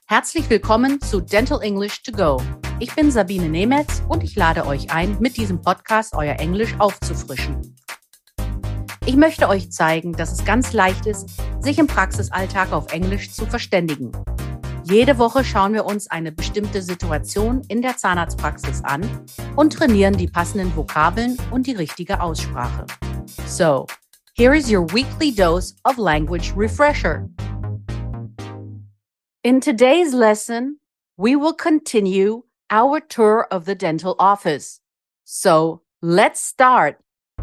Herzlich willkommen zu Dental English to Go. Ich bin Sabine Nemetz und ich lade euch ein, mit diesem Podcast euer Englisch aufzufrischen. Ich möchte euch zeigen, dass es ganz leicht ist, sich im Praxisalltag auf Englisch zu verständigen. Jede Woche schauen wir uns eine bestimmte Situation in der Zahnarztpraxis an und trainieren die passenden Vokabeln und die richtige Aussprache. So, here is your weekly dose of language refresher. In today's lesson, we will continue our tour of the dental office. So, let's start.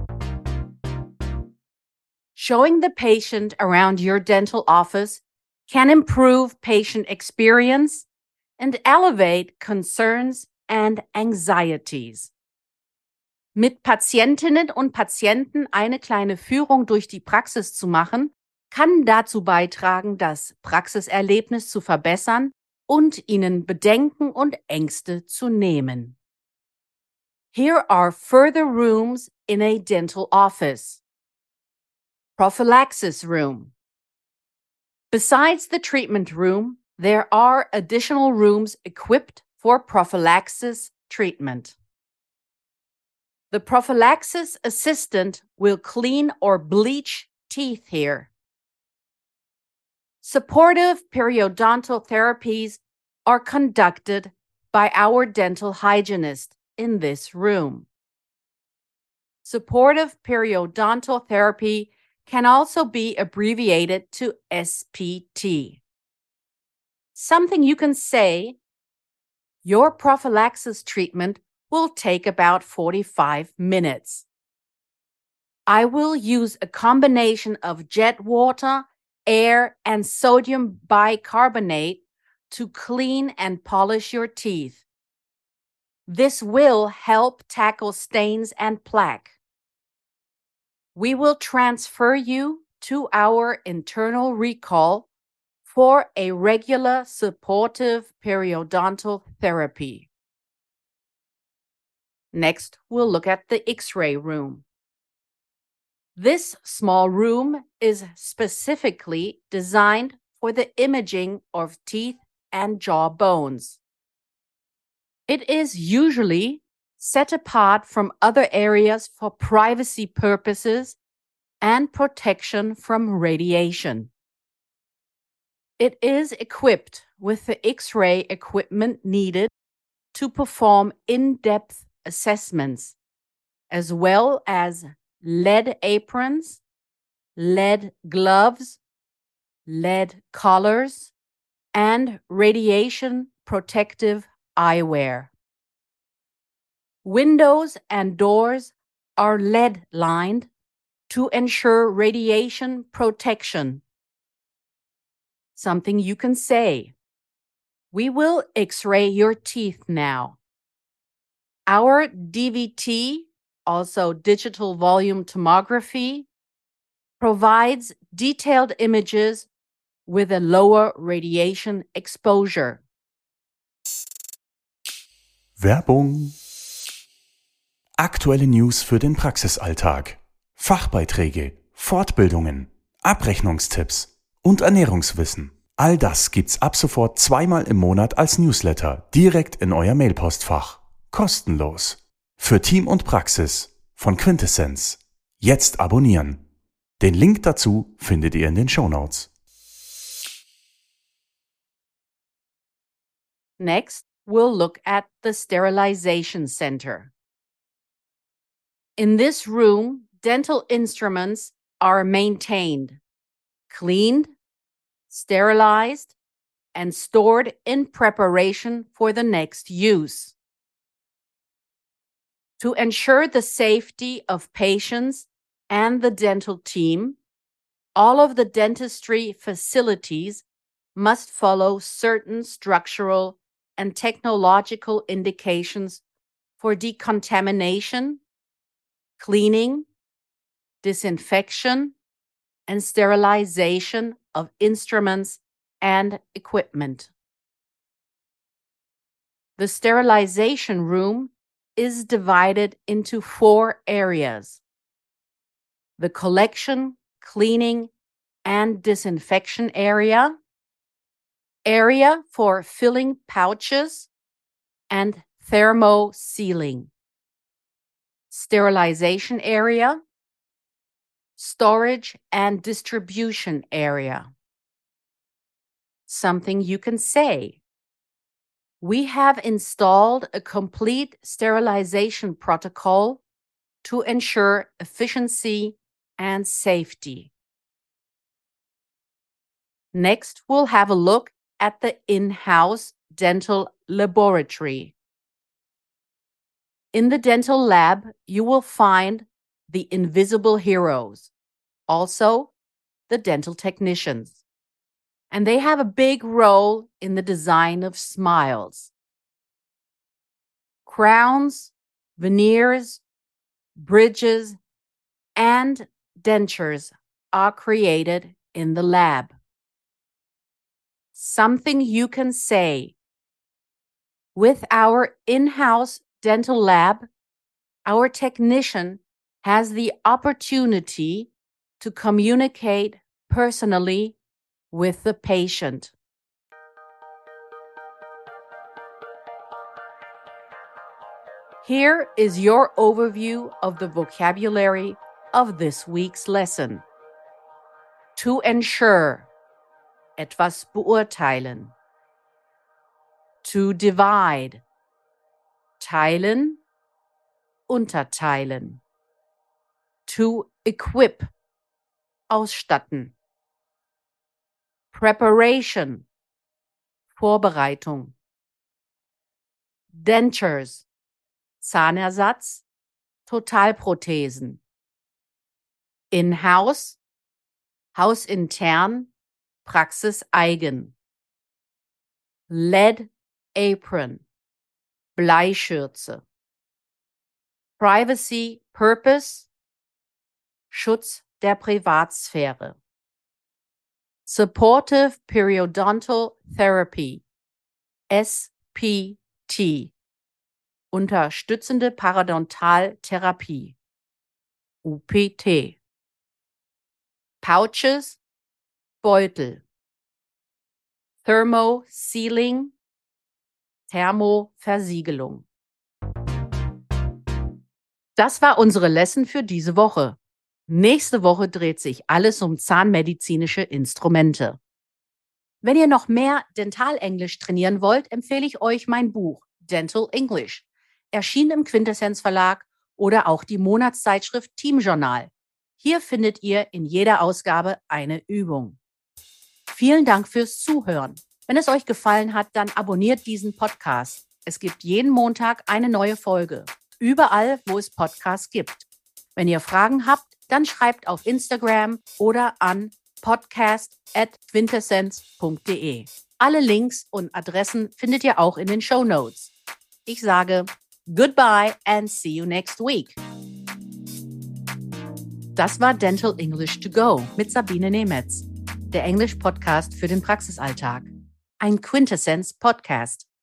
Showing the patient around your dental office can improve patient experience and elevate concerns and anxieties. Mit Patientinnen und Patienten eine kleine Führung durch die Praxis zu machen, kann dazu beitragen, das Praxiserlebnis zu verbessern und ihnen Bedenken und Ängste zu nehmen. Here are further rooms in a dental office. Prophylaxis room. Besides the treatment room, there are additional rooms equipped for prophylaxis treatment. The prophylaxis assistant will clean or bleach teeth here. Supportive periodontal therapies are conducted by our dental hygienist in this room. Supportive periodontal therapy can also be abbreviated to SPT. Something you can say, your prophylaxis treatment will take about 45 minutes. I will use a combination of jet water, air, and sodium bicarbonate to clean and polish your teeth. This will help tackle stains and plaque. We will transfer you to our internal recall for a regular supportive periodontal therapy. Next, we'll look at the X-ray room. This small room is specifically designed for the imaging of teeth and jaw bones. It is usually set apart from other areas for privacy purposes and protection from radiation. It is equipped with the X-ray equipment needed to perform in-depth assessments, as well as lead aprons, lead gloves, lead collars, and radiation protective eyewear. Windows and doors are lead-lined to ensure radiation protection. Something you can say. We will X-ray your teeth now. Our DVT, also digital volume tomography, provides detailed images with a lower radiation exposure. Werbung. Aktuelle News für den Praxisalltag, Fachbeiträge, Fortbildungen, Abrechnungstipps und Ernährungswissen. All das gibt's ab sofort zweimal im Monat als Newsletter direkt in euer Mailpostfach. Kostenlos. Für Team und Praxis von Quintessenz. Jetzt abonnieren. Den Link dazu findet ihr in den Shownotes. Next, we'll look at the sterilization center. In this room, dental instruments are maintained, cleaned, sterilized, and stored in preparation for the next use. To ensure the safety of patients and the dental team, all of the dentistry facilities must follow certain structural and technological indications for decontamination, cleaning, disinfection, and sterilization of instruments and equipment. The sterilization room is divided into 4 areas: the collection, cleaning, and disinfection area, area for filling pouches and thermosealing, sterilization area, storage and distribution area. Something you can say. We have installed a complete sterilization protocol to ensure efficiency and safety. Next, we'll have a look at the in-house dental laboratory. In the dental lab, you will find the invisible heroes, also the dental technicians. And they have a big role in the design of smiles. Crowns, veneers, bridges, and dentures are created in the lab. Something you can say. With our in-house dental lab, our technician has the opportunity to communicate personally with the patient. Here is your overview of the vocabulary of this week's lesson. To ensure, etwas beurteilen. To divide, teilen, unterteilen. To equip, ausstatten. Preparation, Vorbereitung. Dentures, Zahnersatz, Totalprothesen. In-house, hausintern, praxiseigen. Lead apron, Bleischürze. Privacy Purpose, Schutz der Privatsphäre. Supportive Periodontal Therapy, SPT. Unterstützende Parodontaltherapie, UPT. Pouches, Beutel. Thermosealing, Thermoversiegelung. Das war unsere Lesson für diese Woche. Nächste Woche dreht sich alles um zahnmedizinische Instrumente. Wenn ihr noch mehr Dentalenglisch trainieren wollt, empfehle ich euch mein Buch Dental English, erschienen im Quintessenz Verlag oder auch die Monatszeitschrift Team Journal. Hier findet ihr in jeder Ausgabe eine Übung. Vielen Dank fürs Zuhören. Wenn es euch gefallen hat, dann abonniert diesen Podcast. Es gibt jeden Montag eine neue Folge. Überall, wo es Podcasts gibt. Wenn ihr Fragen habt, dann schreibt auf Instagram oder an podcast@quintessenz.de. Alle Links und Adressen findet ihr auch in den Shownotes. Ich sage goodbye and see you next week. Das war Dental English to Go mit Sabine Nemetz, der Englisch-Podcast für den Praxisalltag. Ein Quintessenz-Podcast.